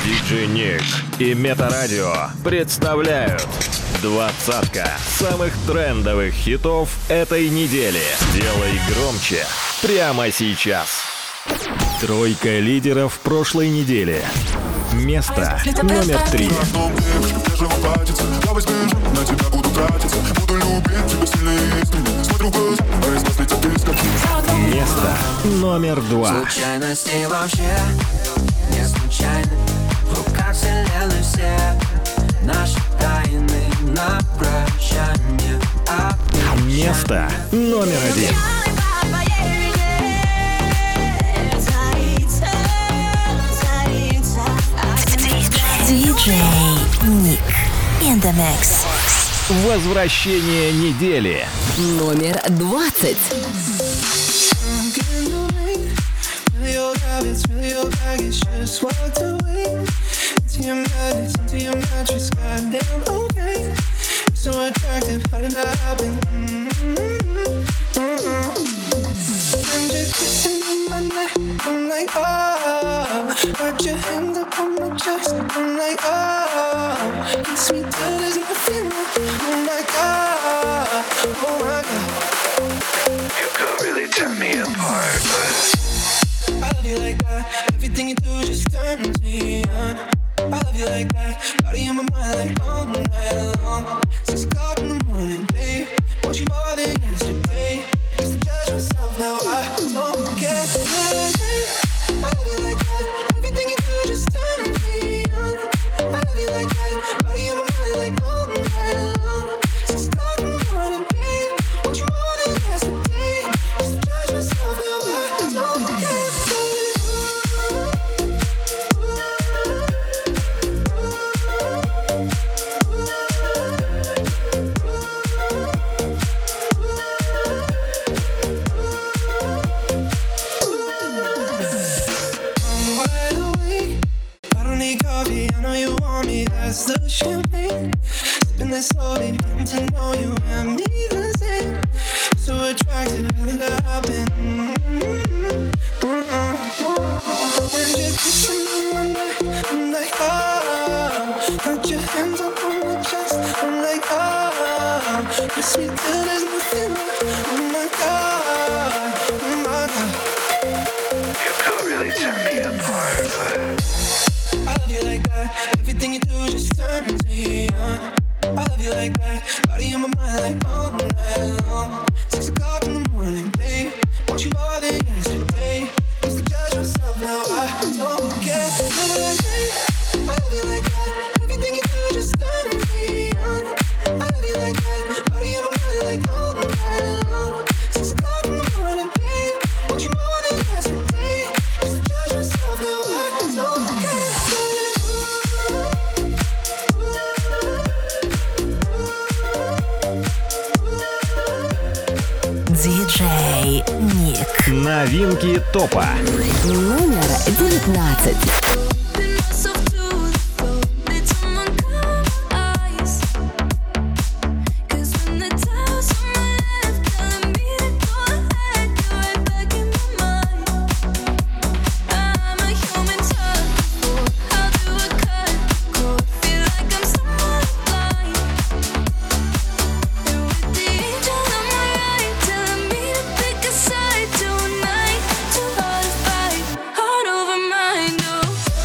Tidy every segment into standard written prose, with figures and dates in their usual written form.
Диджей Ник и Метарадио представляют двадцатка самых трендовых хитов этой недели. Делай громче прямо сейчас. Тройка лидеров прошлой недели. Место номер 3. Место номер 2. Случайности вообще не случайны. В руках вселенной все наши тайны на прощание. Место номер 1. Диджей Ник in the mix. Возвращение недели. Номер 20. I'm like, oh, got your hand up on my chest. I'm like, oh, kiss me till there's nothing left. Oh my God, oh my God. You could really tear me apart, but I love you like that. Everything you do just turns me on. I love you like that. Body in my mind like all night long. 6 o'clock in the morning, babe. Want you more than yesterday. Used to judge myself, now I don't care. I love you like that. Everything you do just turns me on. I love you like that. Body in my mind like all night long. 6 o'clock in the morning, babe. Want you more than yesterday. Used to judge myself, now I don't care. That's the champagne. Sipping that slowly, getting to know you and me the same. So attractive, really I've been. When you're kissing me one night, I'm like, oh. Got your hands up on my chest, I'm like, oh. Kiss me till there's nothing left. Oh my God, oh my God. you could really tear me apart, but I love you like that. Everything you do just turns me on. I love you like that. Body in my mind like all night long. 6 o'clock in the morning, babe. Want you more than yesterday. Used to judge myself, now I don't care. I love you like that. Everything you do just turns me on. I love you like that. Body in my mind like all night long. 6 o'clock in the morning, babe. Want you more than yesterday. Used to judge myself, now I don't care. Диджей Ник. Новинки топа. Номер 19. Heart over mind, oh.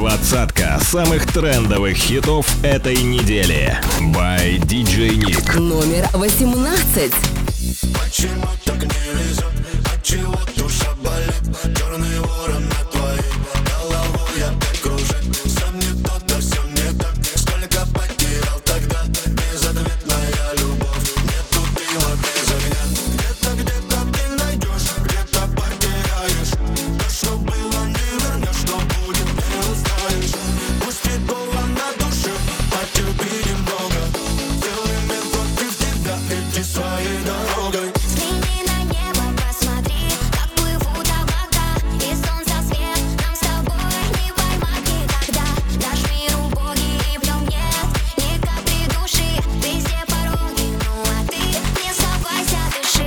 Двадцатка самых трендовых хитов этой недели. By DJ Nick. Номер 18. Почему так не везет? Отчего душа болит? Черный ворон над твоей головой опять кружит. Сам не тот, да все не так. Сколько потерял тогда? Безответная любовь. Нету дыма без огня. Где-то ты найдешь, где-то потеряешь. То, что было, не вернешь, что будет, не узнаешь. Пусть и больно на душе, потерпи немного. Целый мир против тебя, иди своей дорогой. Взгляни на небо, посмотри, как плывут облака, и солнца свет нам с тобой не поймать никогда. Наш мир убогий, и в нем нет ни капли души. Везде пороги, ну а ты не сдавайся, дыши.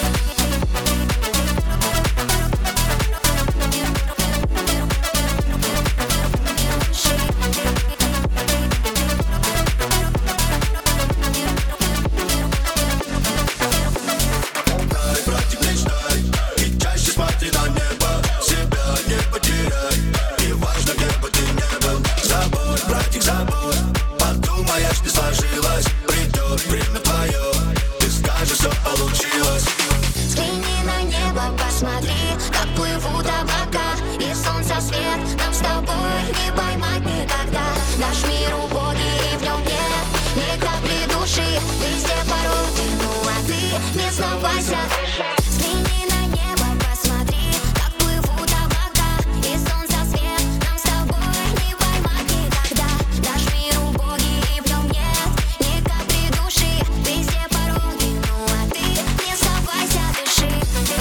Братик, мечтай, и чаще смотри на небо. Себя не потеряй, и важно, где бы ты ни был. Забудь, братик, забудь, подумаешь, не сложилось. Придет время твое, ты скажешь, все получилось. Взгляни на небо, посмотри, как плывут облака, и солнца свет нам с тобой не поймать никогда. Наш мир убогий, и в нем нет ни капли души. Везде пороги, ну а ты не сдавайся. Взгляни на небо, посмотри, как плывут облака, и солнца свет нам с тобой не поймать никогда. Наш мир убогий, и в нем нет ни капли души. Везде пороги, ну а ты не сдавайся, дыши.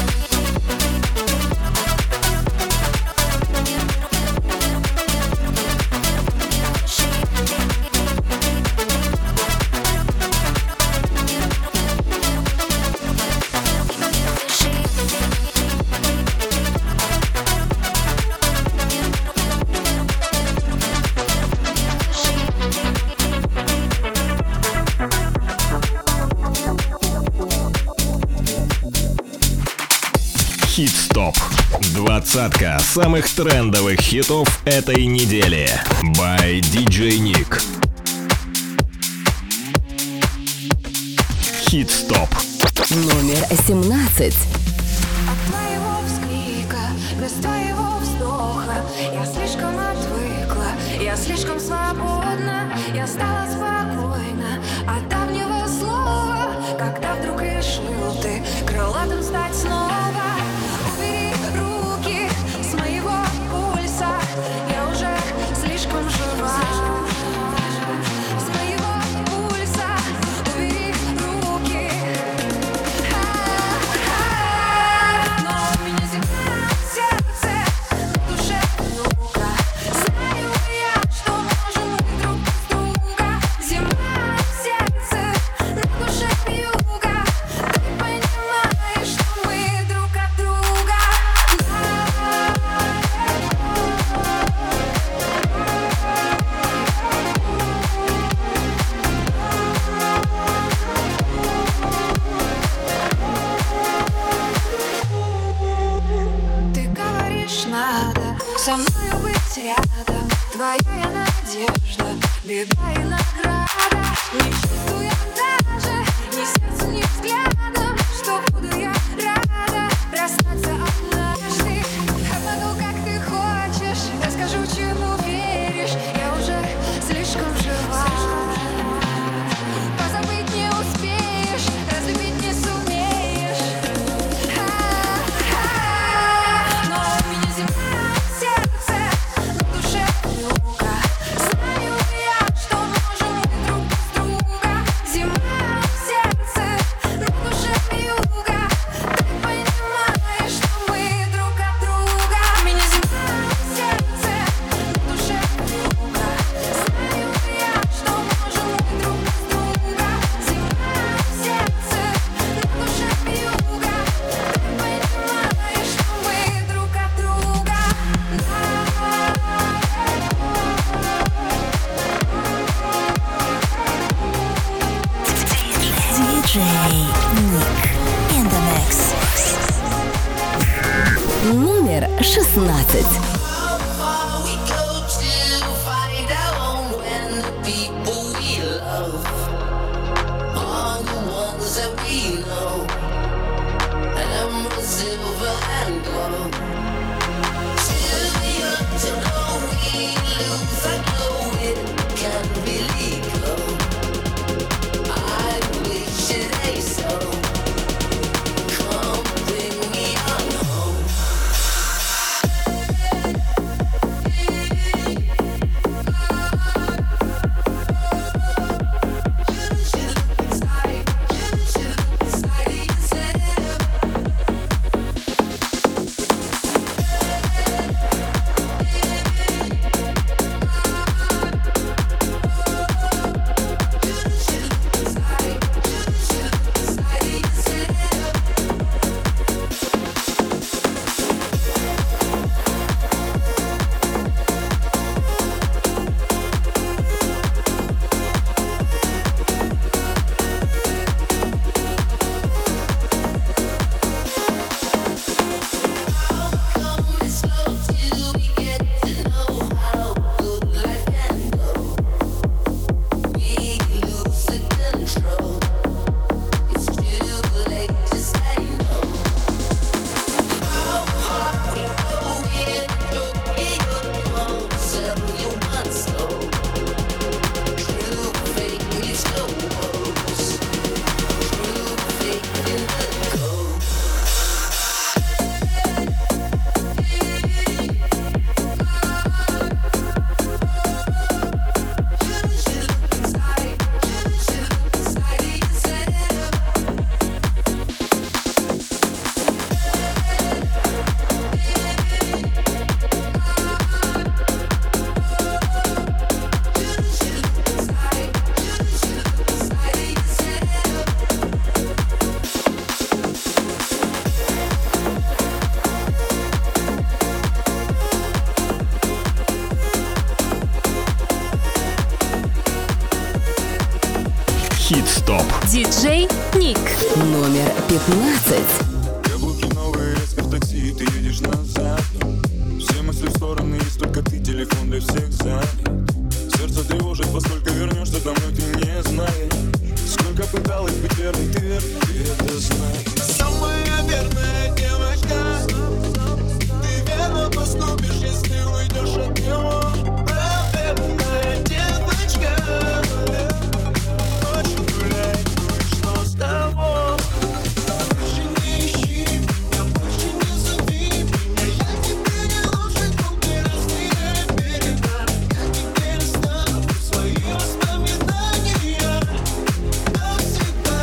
Хит-стоп. Двадцатка самых трендовых хитов этой недели. By DJ Nick. Хит-стоп. Номер 17. От твоего вскрика, без твоего вздоха я слишком отвыкла, я слишком свободна, я стала спокойна от давнего слова, когда вдруг решил ты крылатым стать снова. Убери руки с моего пульса, я уже слишком жива. С моего пульса убери руки. Но у меня земля в сердце, на душе юга. Знаю я, что можем мы друг без друга. Земля в сердце, на душе юга. Ты понимаешь, что мы друг от друга. Ты говоришь, надо со мною быть рядом. Твоя я надежда, беда и награда. Не чувствую даже ни сердцем, ни взглядом, что буду я рада расстаться однажды. Обману, как ты хочешь, расскажу, чему веришь. Я уже слишком жива. Позабыть не успеешь, разлюбить не сумеешь. Но у меня земля в сердце, на душе юга. Знаю я, что можем мы друг без друга. Земля в сердце, на душе юга. Ты понимаешь, что мы друг от друга. У меня земля в сердце, на душе юга. Знаю я, что можем мы друг без друга. Земля в сердце, на душе юга. Ты понимаешь, что мы друг от друга. DJ Nick in the mix. Номер 16. We go to love are the ones that we know. Emerald, silver and gold. Too young to know we lose. I know it can be legal. I wish it ain't so. Come bring me on home. Хит-стоп. Диджей Ник. Номер 15. Каблуки новые, резко в такси, ты едешь назад. Все мысли в стороны, есть только ты, телефон для всех занят. Сердце тревожит, поскольку вернешься домой, ты не знаешь. Сколько пыталась быть верной, ты верный, ты это знаешь. Самая верная девочка, ты верно поступишь, если уйдешь от него. Правильная девочка, ночью гуляй, ну и что с того? Больше не ищи меня, больше не зови меня. Я тебе не нужен, только разные берега. Я теперь оставлю свои воспоминания навсегда.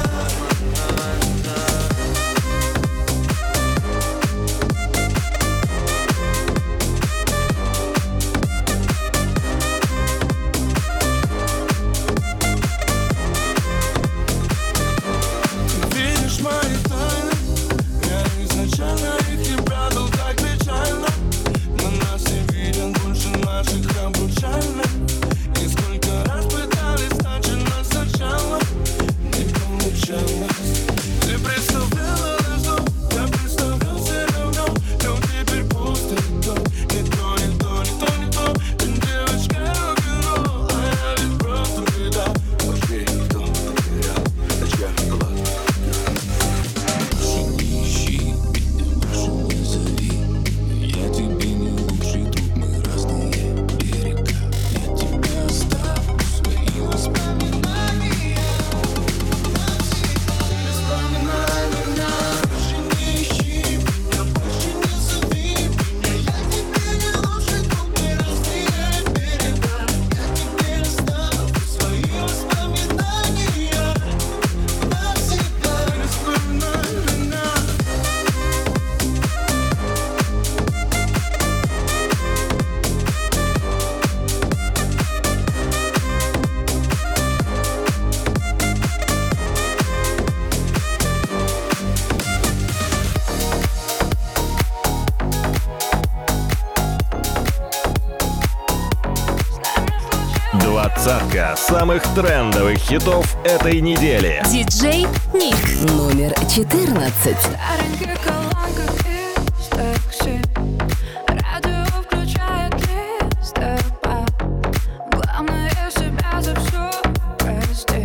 Видишь мои тайны, я изначально их не прятал так печально. На нас не виден больше наших обручальных. И сколько раз пытались начинать сначала, не получалось. Ты представляла наш дом, я представлял все равно. Но теперь пусто и то, не то, не то, не то, не то. Ты девочка рок-н-ролл, а я ведь просто беда. Вообще никто не потерял, очками глаз. Больше не ищи меня, больше не зови. Я тебе не лучший друг, мы разные берега. Я тебе оставлю свои воспоминания навсегда. Больше не ищи меня, больше не зови меня. Я тебе не лучший друг, мы разные берега. Я тебе оставлю свои воспоминания навсегда. Двадцатка самых трендовых хитов этой недели. Диджей Ник. Номер 14. Старенький колонка из такси. Радио включает лист. Главное себя за все простить.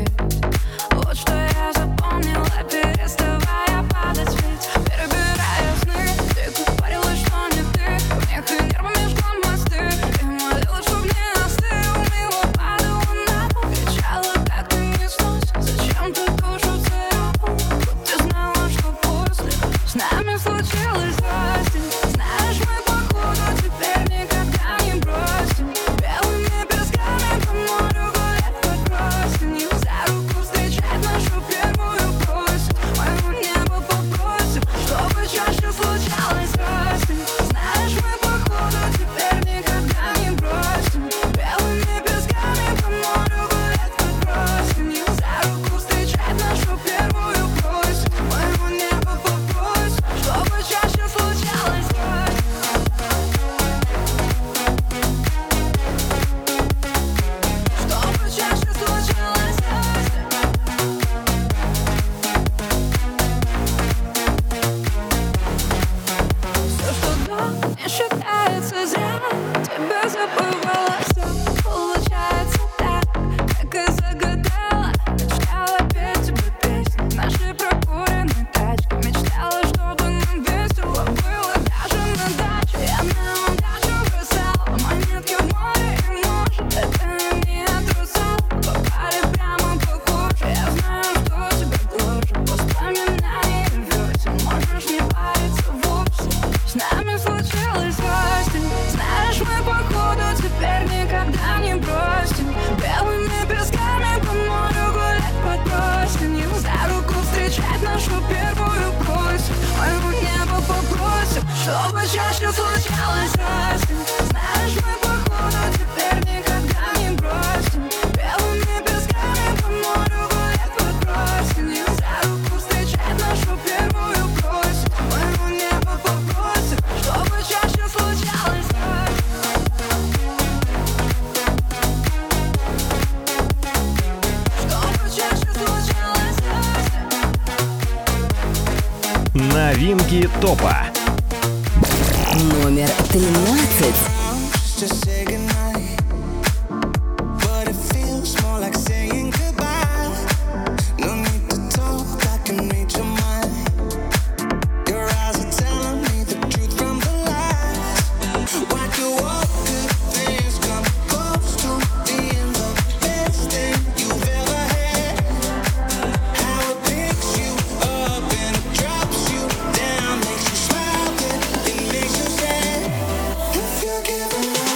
Новинки топа. Номер 13. Just say goodnight, but it feels more like saying goodbye. No need to talk, I can read your mind. Your eyes are telling me the truth from the lies. Why do all good things come close to being the best thing you've ever had? How it picks you up and it drops you down, makes you smile, then it makes you sad. If you're giving up,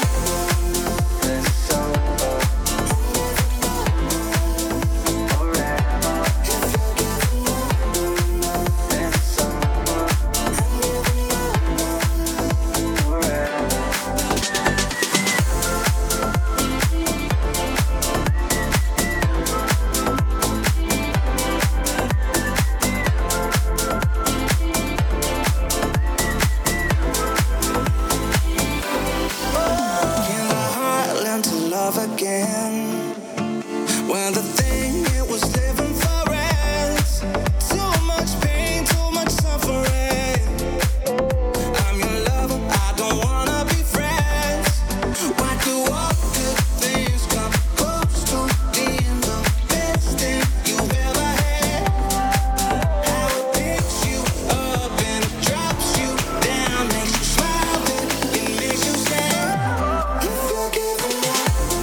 can the heart learn to love again? When the thing it was living for ends. Too much pain, too much suffering. I'm your lover, I don't wanna be friends. Why do all good things come close to being the best thing you've ever had? How it picks you up and it drops you down, makes you smile, then it makes you sad. If you're giving up,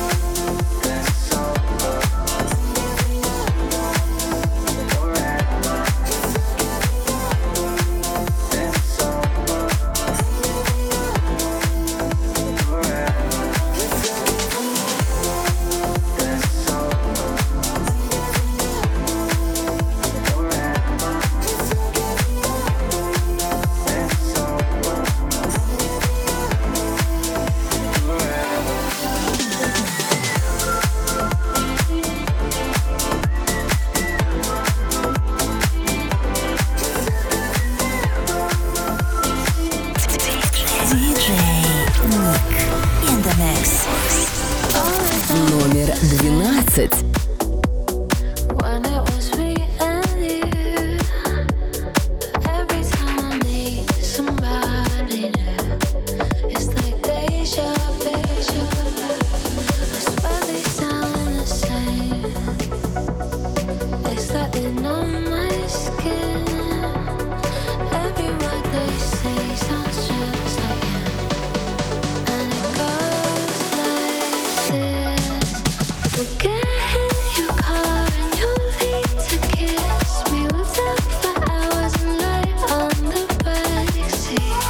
Номер 12. When it was me and you, every time I meet somebody new, it's like deja vu. I swear they sound the same. It's like they know my skin. Every word they say sounds just like him. And it goes like this. Get in your car and you leave to kiss me. We'll talk for hours and lie on the backseat.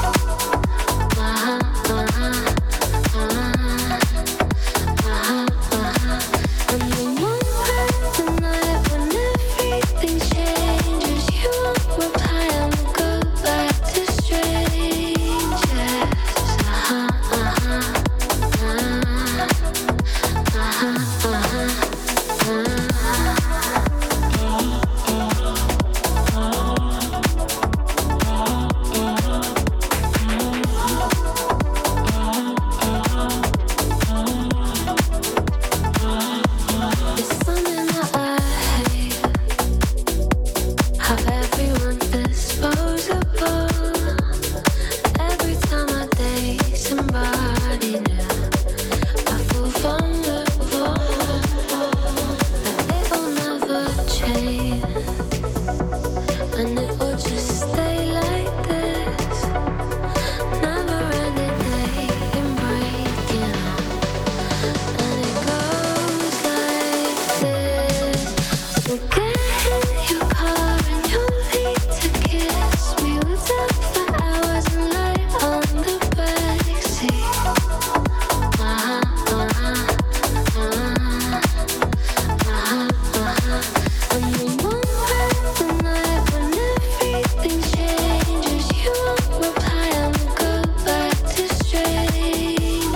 And the moment the night when everything changes, you won't reply and we'll go back to strangers. It's something that I hate, how everyone's disposable. Every time I date somebody new, I feel vulnerable. That it will never change, and it will just stay like this. Never ending day breaking up. And it goes like this. We'll get in your car and you leave to kiss me. We'll talk for hours and lie on the backseat. And the moment the night when everything changes, you won't reply and we'll go back to strangers.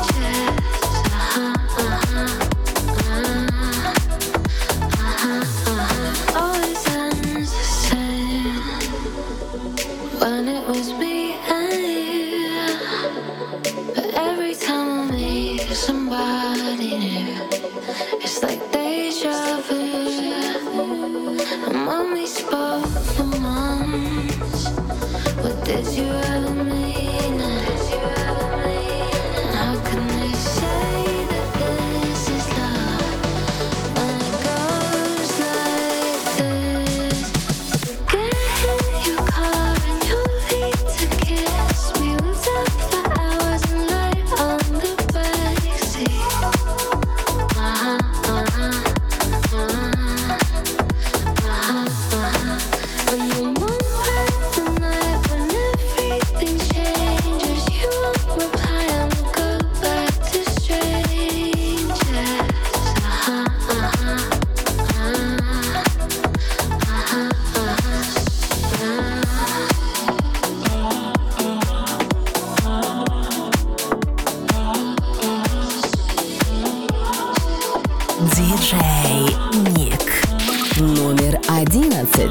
Always ends the same. When it was me and you, but every time I meet somebody new, it's like deja vu. And when we spoke for months, we're Did you ever mean it? How can they say that this is love when it goes like this? Get in your car and your feet to kiss me. We've talked for hours and light on the backseat. When you move at the night, when everything changes, you won't reply and we'll go back to strangers. Диджей Ник. Номер 11.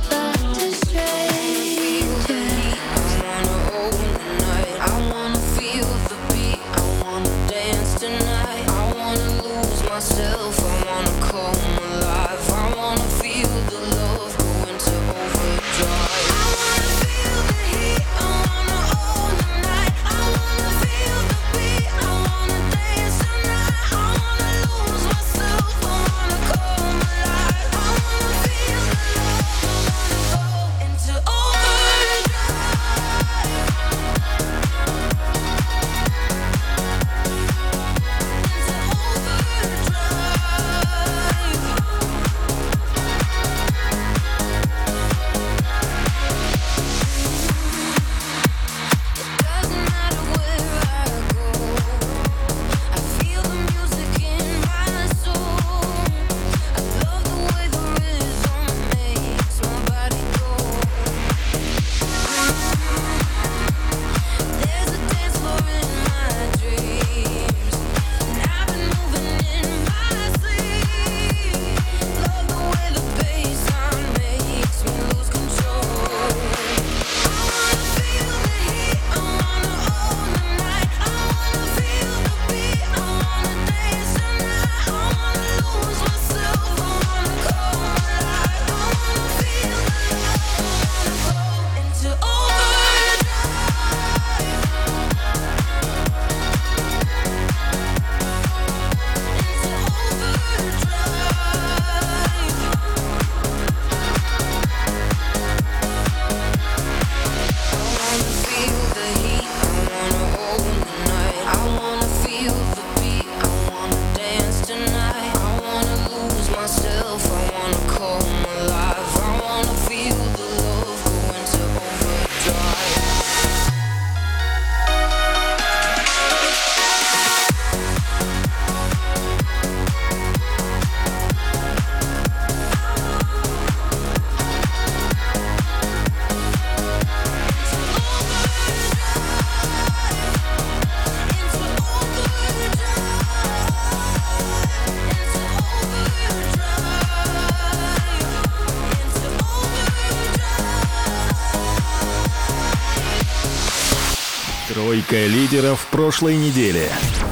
Тройка лидеров прошлой недели.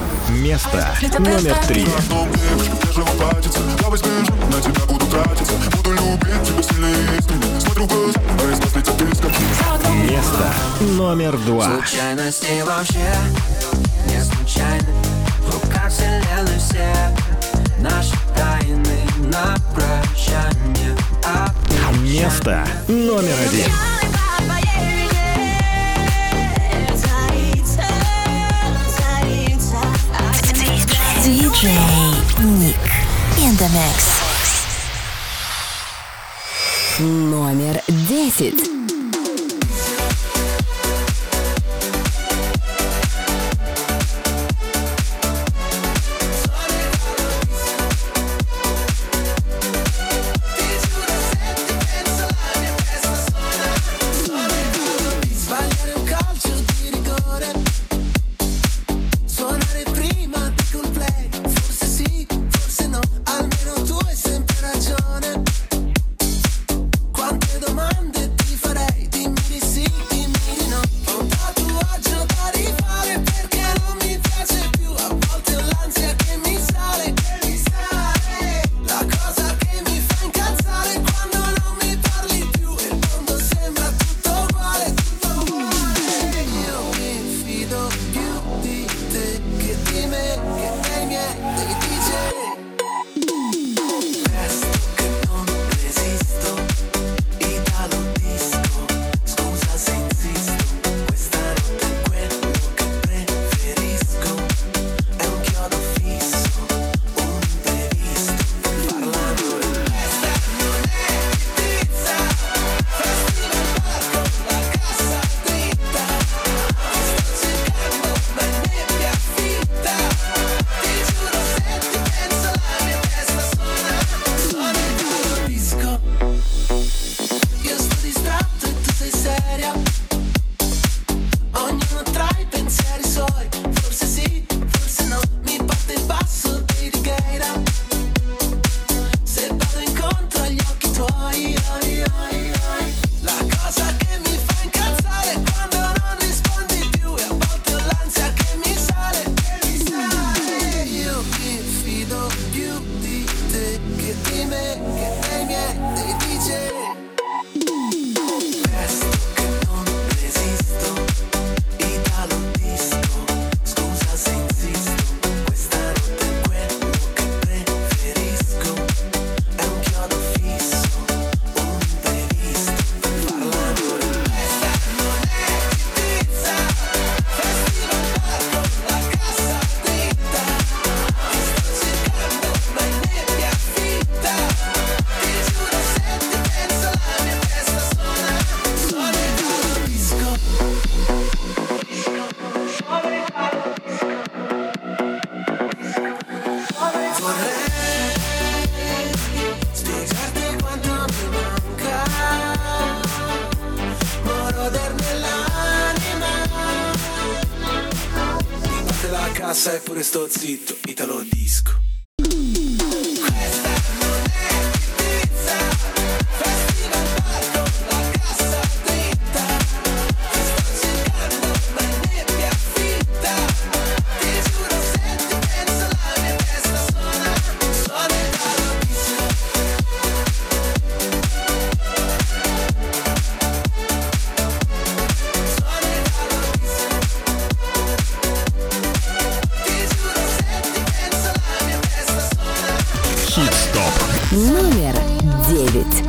Место номер 3. Место номер 2. Случайности вообще не случайны. В руках вселенной все наши тайны на прощание. Место номер 1. Диджей Ник in the mix. Номер 10. Quante domande ti farà sai pure sto zitto, Italo disco. Номер 9.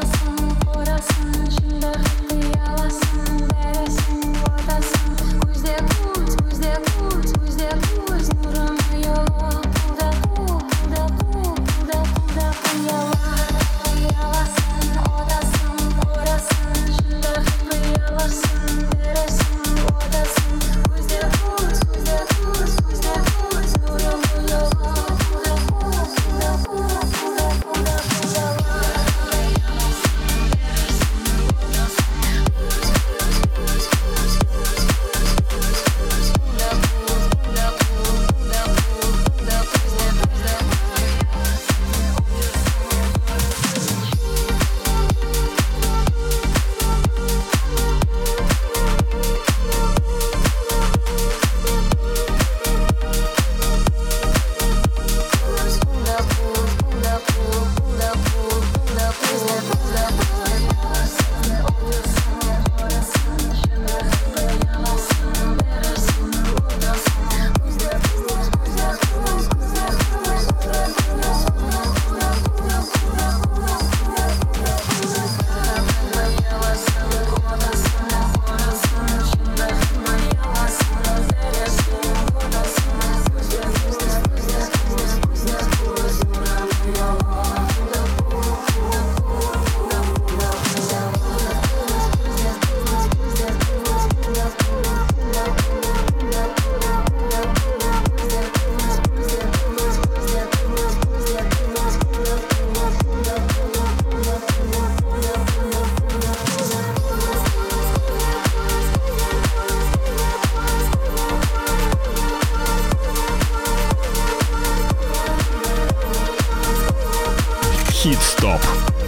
Хит-стоп.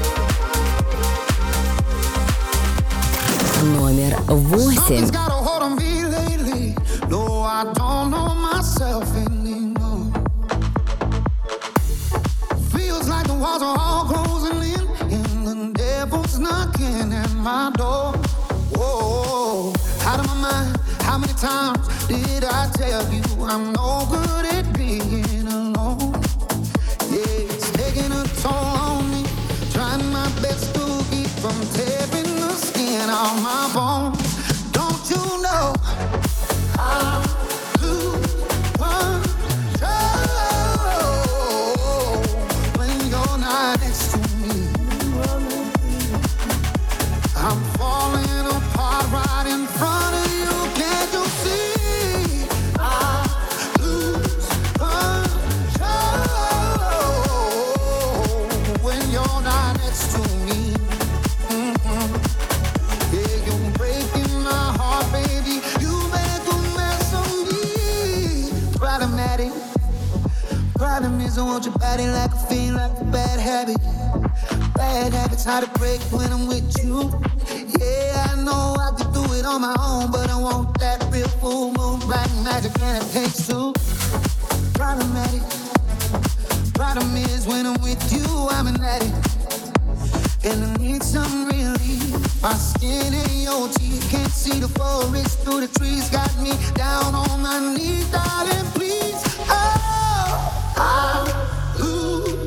Номер 8. Something's got a hold on me lately. No, I don't know myself anymore. Feels like the walls are all closing in, and the devil's knocking at my door. Whoa, out of my mind. How many times did I tell you I'm no good at being alone? Yeah, it's taking a toll on me. Trying my best to keep from tearing the skin off my bones. Don't you know I lose control when you're not next to me? I'm falling apart right in front of you. Can't you see? I lose control when you're not next to me. Yeah, you're breaking my heart, baby. You make a mess of me. Problematic. Problem is I want your body like a fiend, like a bad habit. Bad habits hard to break when I'm with you. Yeah, I know I could do it on my own, but I want that real full moon, black magic, and it takes two. Problematic. Problem is when I'm with you, I'm an addict, and I need some relief. My skin and your teeth, can't see the forest through the trees. Got me down on my knees, darling, please. Oh, I lose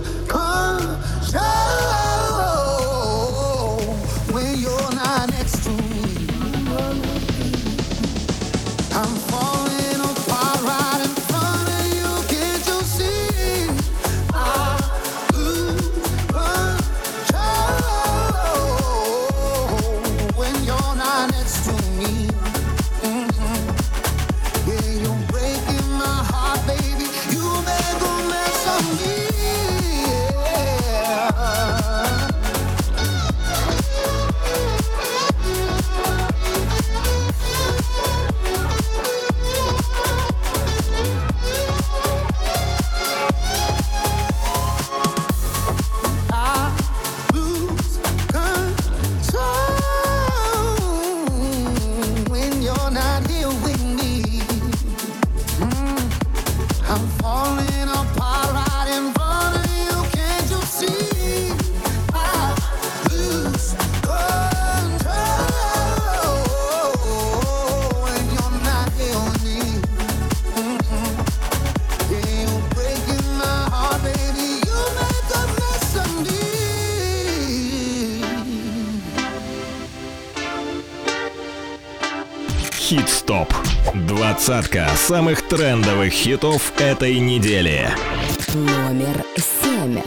control when you're not next to me. I'm falling apart right in front of you. Can't you see? I lose control when you're not next to me. Yeah, you're breaking my heart, baby. You make a mess of me. Хит-стоп. 20 самых трендовых хитов этой недели. Номер 7.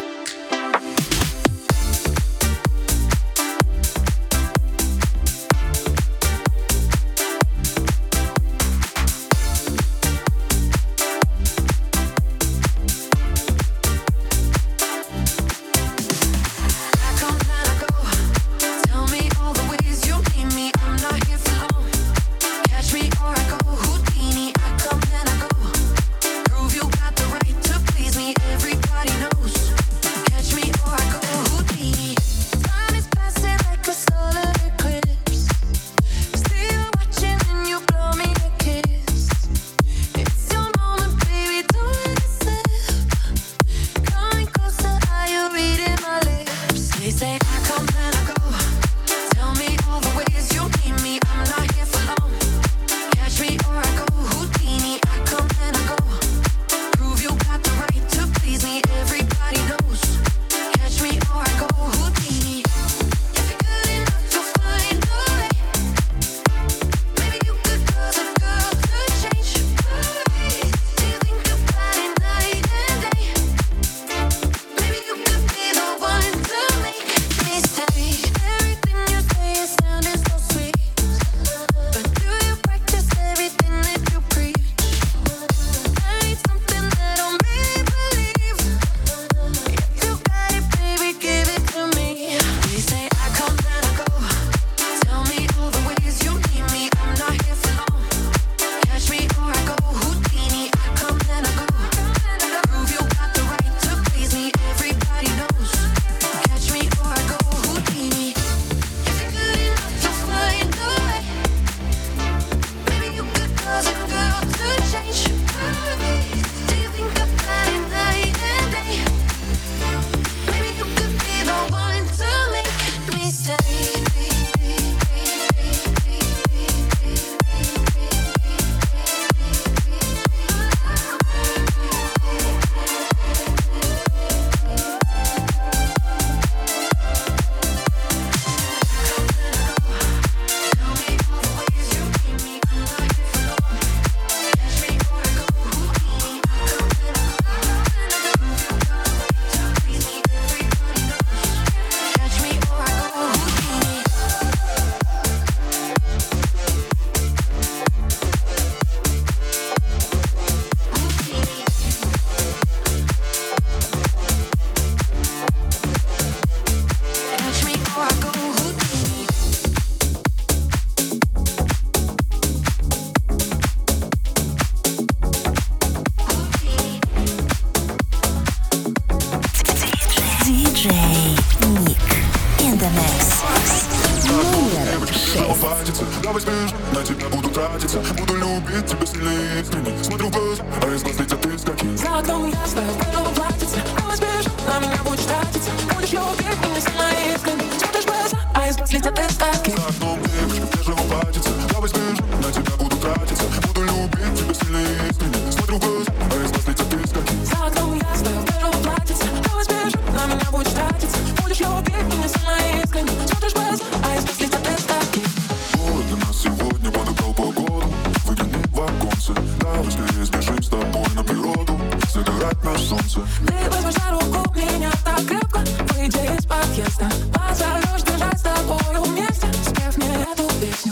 Давай спишь, на тебя буду тратиться. Буду любить тебя сильнее искренне. Смотрю в глаза, а из глаз летят искорки. За окном ясно, в белом платьице. Давай спишь, на меня будешь тратиться. Будешь любить меня сильнее искренне. Смотришь в глаза, а из глаз летят искорки. За окном девушка в бежевом платьице. Давай спишь, на тебя буду тратиться. Буду любить тебя сильнее искренне. Смотрю в глаза, а из глаз летят искорки. За окном ясно, в белом платьице. Давай спишь, на меня будешь тратиться. Будешь любить меня сильнее искренне. Смотришь в глаза, а из глаз летят искорки. Для нас сегодня подобрал погоду. Выгляни в оконце. Давай скорее сбежим с тобой на природу. Загорать на солнце. Ты возьмешь за руку меня так крепко. Выйдя из подъезда, позовешь бежать с тобою вместе, спев мне эту песню.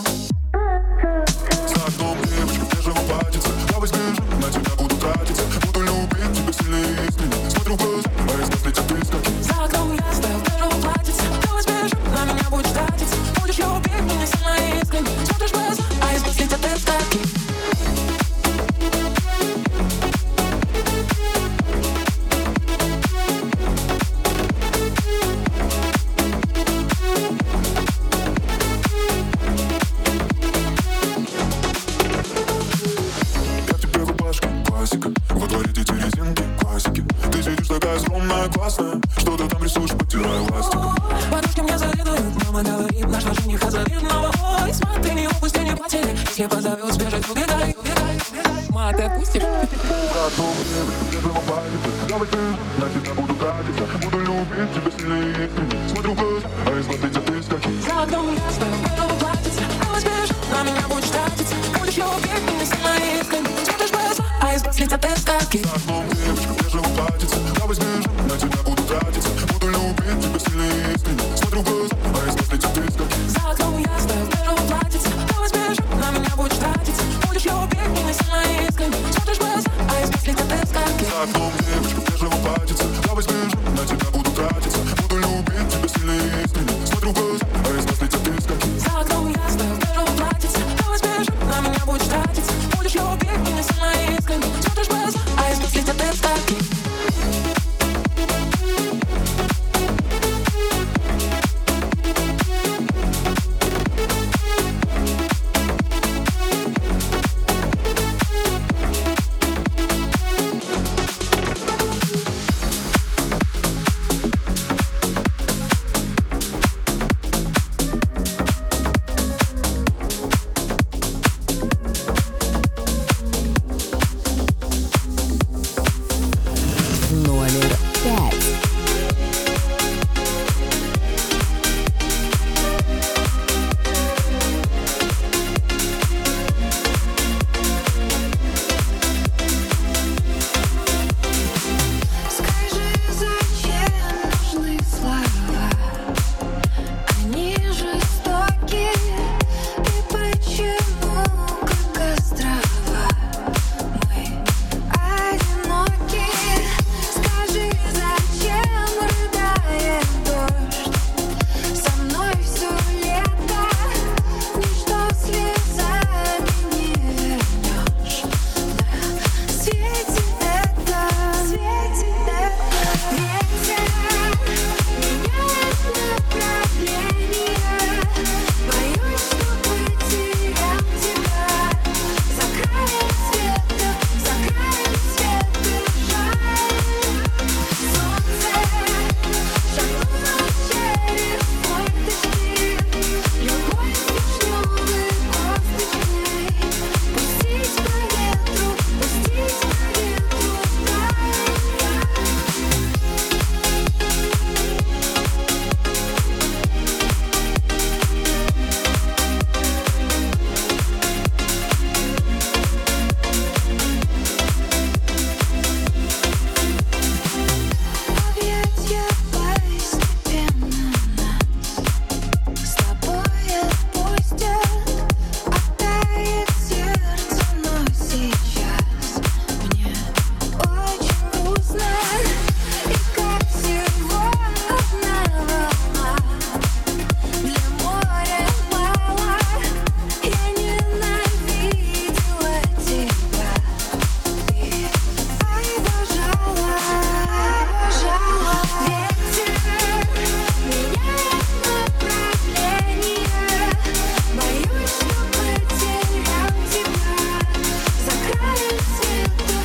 За окном девушка в бежевом платьице. Давай сбежим, на тебя буду тратиться. Буду любить тебя сильнее искренне. Смотрю в глаза, а из глаз летят искорки. За окном ясно, в бежевом платьице. Давай сбежим, на меня будешь тратиться. Будешь любить меня сильнее искренне. Смотришь в глаза, а из глаз летят искорки. Во дворе дети резинки, классики. Ты сидишь такая скромная, классная. Что ты там рисуешь, подтирая ластиком. Подружки мне завидуют, мама говорит, нашла жениха завидного. Ой, смотри, не упусти, не потери. Если позовет, сбежать, убегай, убегай, убегай. Ма, ты отпустишь? Давай ты, на тебя буду тратиться. Буду любить тебя сильнее искренне. Смотрю в глаза, а из глаз летят искорки. За окном ясно, в белом платьице. Давай сбежим, на меня будешь тратиться. размыслить от эскаки. За окном девочка в бежевом платьице. Я возьмешь, на тебя буду тратиться. Буду любить тебя сильно и искренне. Смотрю в глаза, а размыслить от эскаки. За окном я стою в бежевом платьице. Я возьмешь, на меня будешь тратиться. Будешь любить меня сильно и искренне. Смотришь в глаза, а размыслить от эскаки. За окном девочка в бежевом платьице. Я возьмешь, на тебя буду тратиться. Буду любить тебя сильно и искренне. Смотрю в глаза, а размыслить от эскаки. За окном я стою в бежевом платьице. Я возьмешь, на меня будешь тратиться. Будешь любить меня сильно и искренне. Смотришь в глаза, а размыслить от эскаки. Номер 5. Скажи, зачем нужны слова? Они жестоки. И почему, как острова, мы одиноки? Скажи, зачем рыдает дождь? Со мной все лето. Ничто слезами не вернешь. На свете это ветер меняет направление. Боюсь, что потерял тебя. За краем света, жаль. Солнце шагнуло через форточки. Любовь вишневой косточкой. Пустить по ветру, объятья постепенно нас с тобой отпустят. Оттает сердце, но сейчас мне очень грустно. И как всего одна волна для моря мало. Я ненавидела тебя. Ты обожала. Ветер меняет направление. Боюсь, что потерял тебя. За краем света,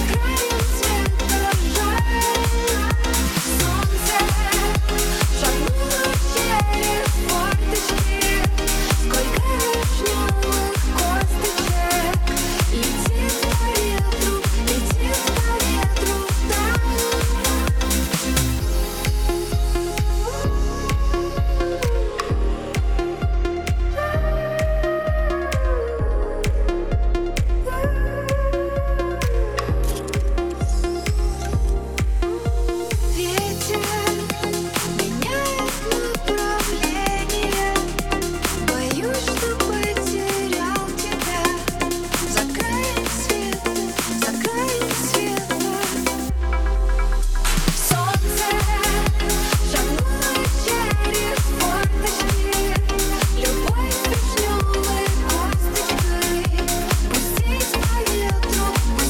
жаль. Солнце шагнуло через форточки. Сколько вишневых косточек. Летит по ветру, ветер меняет направление. Боюсь, что потерял тебя. За краем света, солнце шагнуло через форточки. Любовь вишневой косточкой. Пустить по ветру,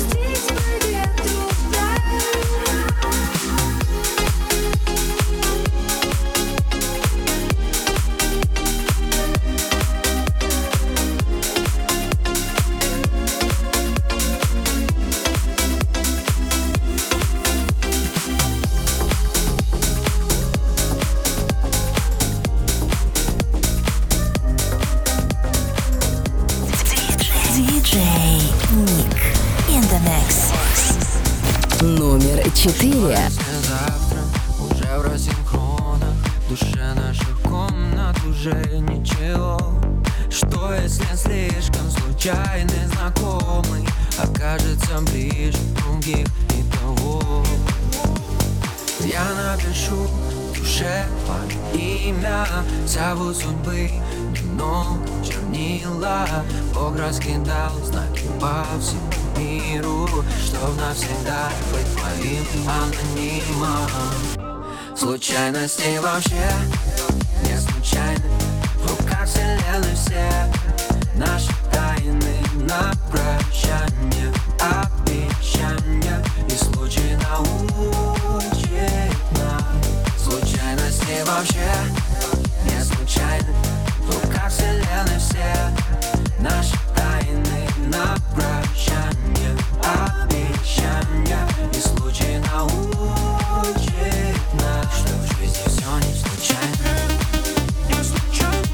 Диджей Ник in the mix. Номер 4. Завтра уже в рассинхронах. В душе наших комнат уже ничего. Что если слишком случайный знакомый окажется ближе других и того? Я напишу в душе твое имя, зовут судьбы немного чернила. Бог раскидал знаки по всему миру, чтоб навсегда быть твоим анонимом. Случайности вообще не случайны, в руках вселенной все наши тайны на прощание, обещания и случай научит нас. Случайности вообще не случайны, в руках вселенной все наши тайны на прощание, обещания и случай научит нас, что в жизни все не случайно. Не случайно.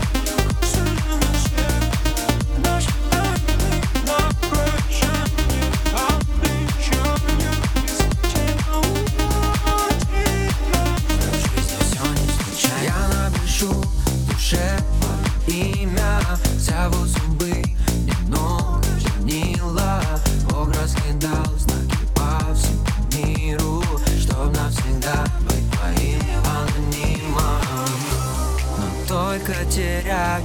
Имя, зовут зубы, немного чернила. Бог раскидал знаки по всему миру, чтоб навсегда быть твоим анонимом. Но только теряя,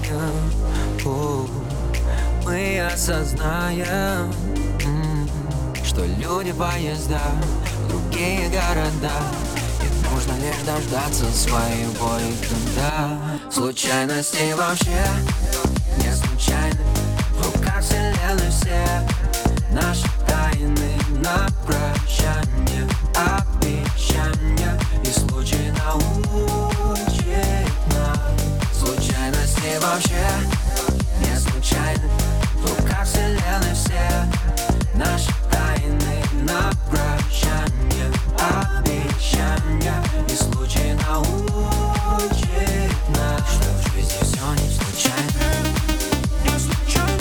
мы осознаем, что люди поезда в другие города. Нужно лишь дождаться своего иногда. Случайности вообще не случайны, в руках вселенной все наши тайны на прощание, обещания и случай научит нас. Случайности вообще не случайны, в руках вселенной все наши тайны на прощание, обещания и случай научит нас, что в жизни все не случайно. Не случайно.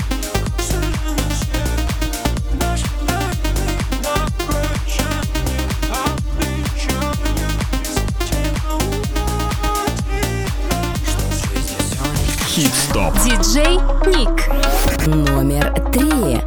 Наши тайны на прощание, обещания и случай научит нас, что в жизни все не случайно. Хит-стоп. Диджей Ник. Номер 3.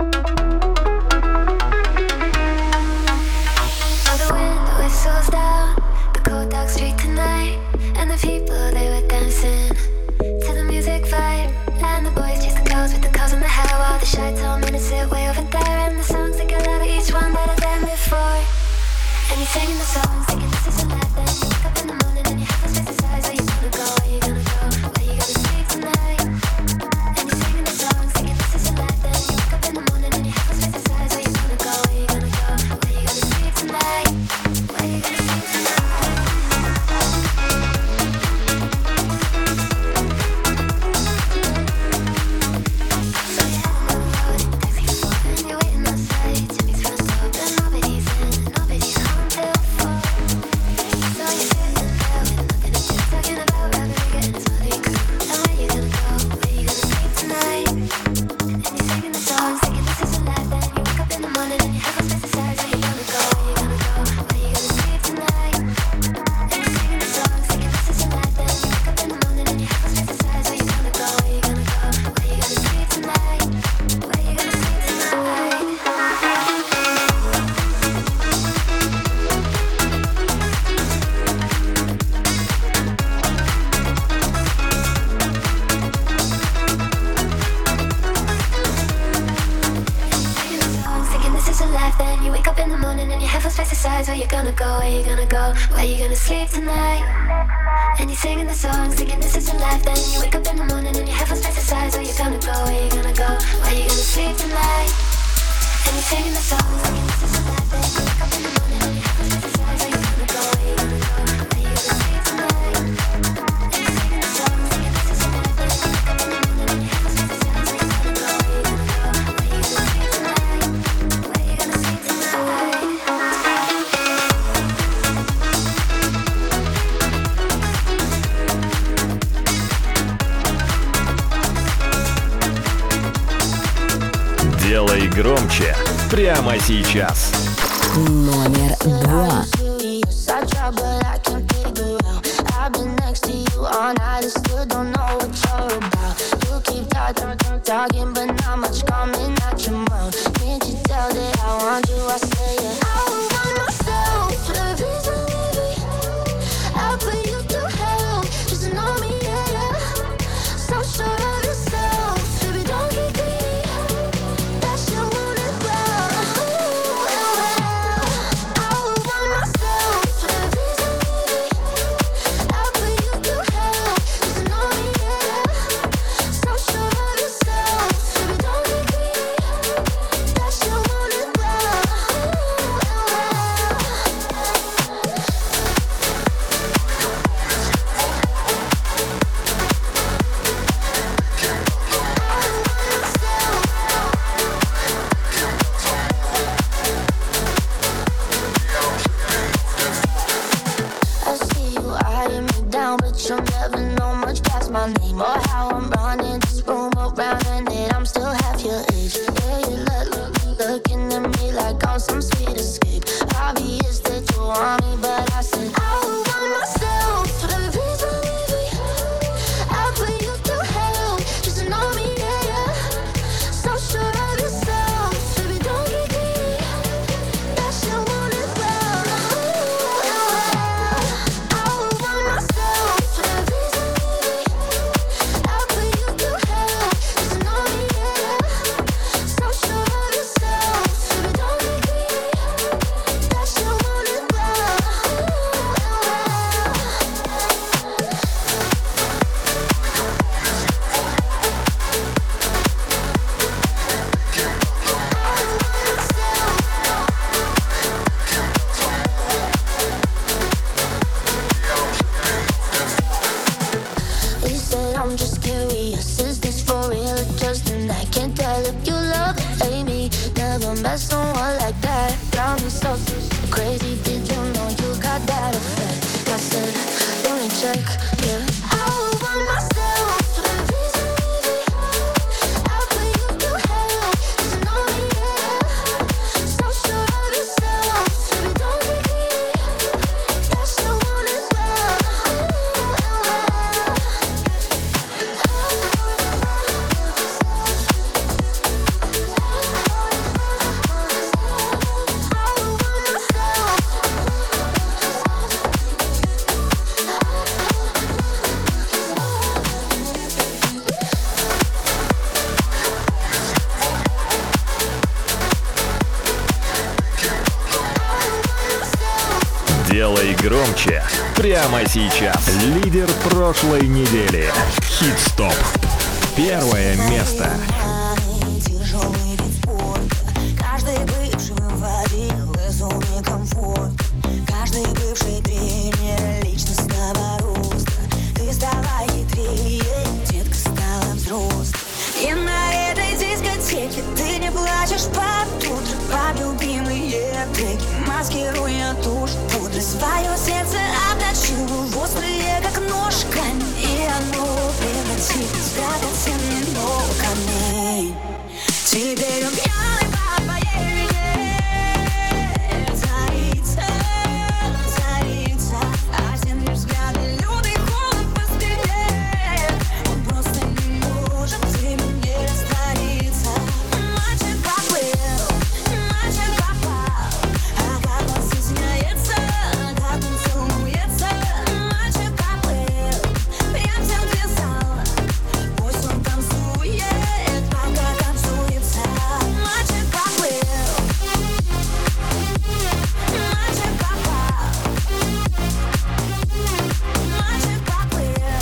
Singing the songs, thinking this is a life. Then you wake up in the morning and you have to fantasize. Where you gonna go? Where you gonna go? Where you gonna sleep tonight? And you're singing the songs, thinking this is a life. Then you wake up in the morning and you have to fantasize. Where you gonna go? Where you gonna go? Where you gonna sleep tonight? Where you gonna sleep tonight? So you're heading on the road, taxi before, and you're waiting outside. Jimmy's front door, but nobody's in, and nobody's home till 4. So you're sitting there with nothing to do, talking about Rodrigo and his money crew. And where you gonna go? Where you gonna sleep tonight? And you're singing the songs, thinking this is a life. Then you wake up in the morning and you have to fantasize. Where you gonna go? Where you gonna go? Where you gonna sleep tonight? And you're singing the songs, thinking this is a life. Then you wake up in the morning and you have to fantasize. Where you gonna go? Where you gonna go? Where you gonna sleep tonight? Where you gonna sleep tonight? Thinking this is a life, then you wake up in the morning and you have us fantasize. Where you gonna go? Where you gonna go? Where you gonna sleep tonight? And you're singing the songs, thinking this is a life, then you wake up in the morning and you have us fantasize. Where you gonna go? Where you gonna go? Where you gonna sleep tonight? And you're singing the songs, thinking this is a life, then you wake up in the morning and you have us fantasize. Where you gonna go? Where you gonna go? Where you gonna sleep tonight? And you're singing the songs, thinking this is a life, then you wake up in the morning and you have us fantasize. Where you gonna go? Where you gonna go? Where you gonna sleep tonight? Where you gonna sleep tonight? Делай громче прямо сейчас. Номер 2. I try, but I can't figure out. I've been next to you all night and still don't know what you're about. You talking, but not much coming out your mouth. Can't you tell that I want you? I say it. I want myself for the reason, baby. I'll put you through hell. Just know me, yeah. So sure of yourself, baby, don't get greedy. That shit won't end well. I want myself for the reason, baby. I'll put you through hell. Just know me, yeah. So sure of yourself, baby, don't get greedy. That shit won't end well. I see you eyeing me down, but you'll never know much past my name or how I'm running this room around, and that I'm still half your age. Yeah, you looking at me like I'm some sweet escape. Obvious that you want me, but I said I want myself for the reason, baby. I'll put you through hell. Just know me, yeah. So sure of yourself, baby, don't get greedy. That shit won't end well. I want myself for the reason, baby. I'll put you through hell. Just know me, yeah. So sure of yourself, baby, don't get greedy. That shit won't end well. You said I'm just curious, is this for real or just an act? Can't tell if you love or hate me. Never met someone like that. Got me so crazy, did you know you got that effect? I said, let me check, yeah. I want myself for the reason, baby. I'll put you through hell. Just know me, yeah. So sure of yourself, baby, don't get greedy. That shit won't end well. Делай громче прямо сейчас. Лидер прошлой недели. Хит-стоп. Первое место. Тяжелый вид спорта. Каждый бывший выводил из зоны комфорта. Каждый бывший тренер личностного роста. Ты стала хитрее, детка стала взрослой. И на этой дискотеке ты не плачешь под утро, под любимые треки, маскируя тушь пудры. Свое сердце обнажила в острые, как нож, камень, и оно превратилось в драгоценный много камней. Теперь он пьяный по твоей вине, царица, царица, а всем лишь взгляды, лютый холод по спине. Он просто не может тебе не раствориться. Мальчик поплыл, мальчик попал, а как он стесняется, как он целуется. Мальчик поплыл, прям всем писал, пусть он танцует, пока танцуется. Мальчик поплыл, мальчик попал, мальчик поплыл,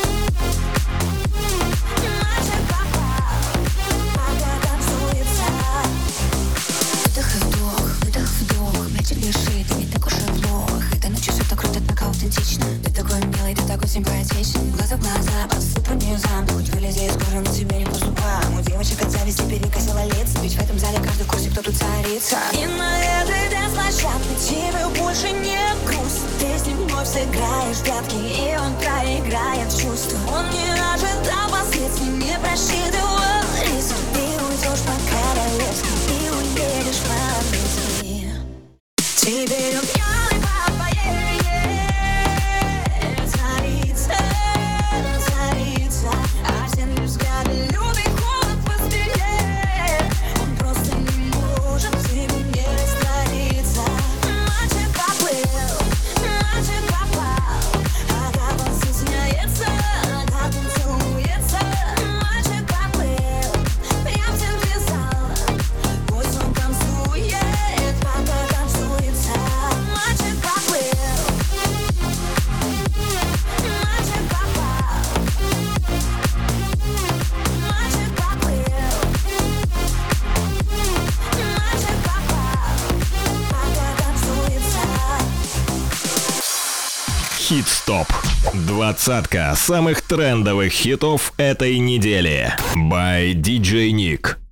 мальчик попал, пока танцуется. Выдох и вдох, выдох, вдох. Мячик лежит, не так уж и плохо. Этой ночью все так круто, так аутентично. Ты такой милый, ты такой симпатичный. Глаза в глаза, посыпай низам. Хоть вылези из кожи, но тебе не по зубам. У девочек от зависти перекосило лица. Ведь в этом зале каждый курсик, кто тут царица. И на этой дэнс-площадке тебе больше не грустно. Ты с ним вновь сыграешь в прятки, и он проиграет чувства. Он не ожидал последствий, не просчитывал риски. Ты уйдешь по-королевски и уедешь по-английски. Теперь он пьяный по твоей вине, царица, царица, а всем лишь взгляды, люди Хит-стоп. 20 самых трендовых хитов этой недели. By DJ Nick.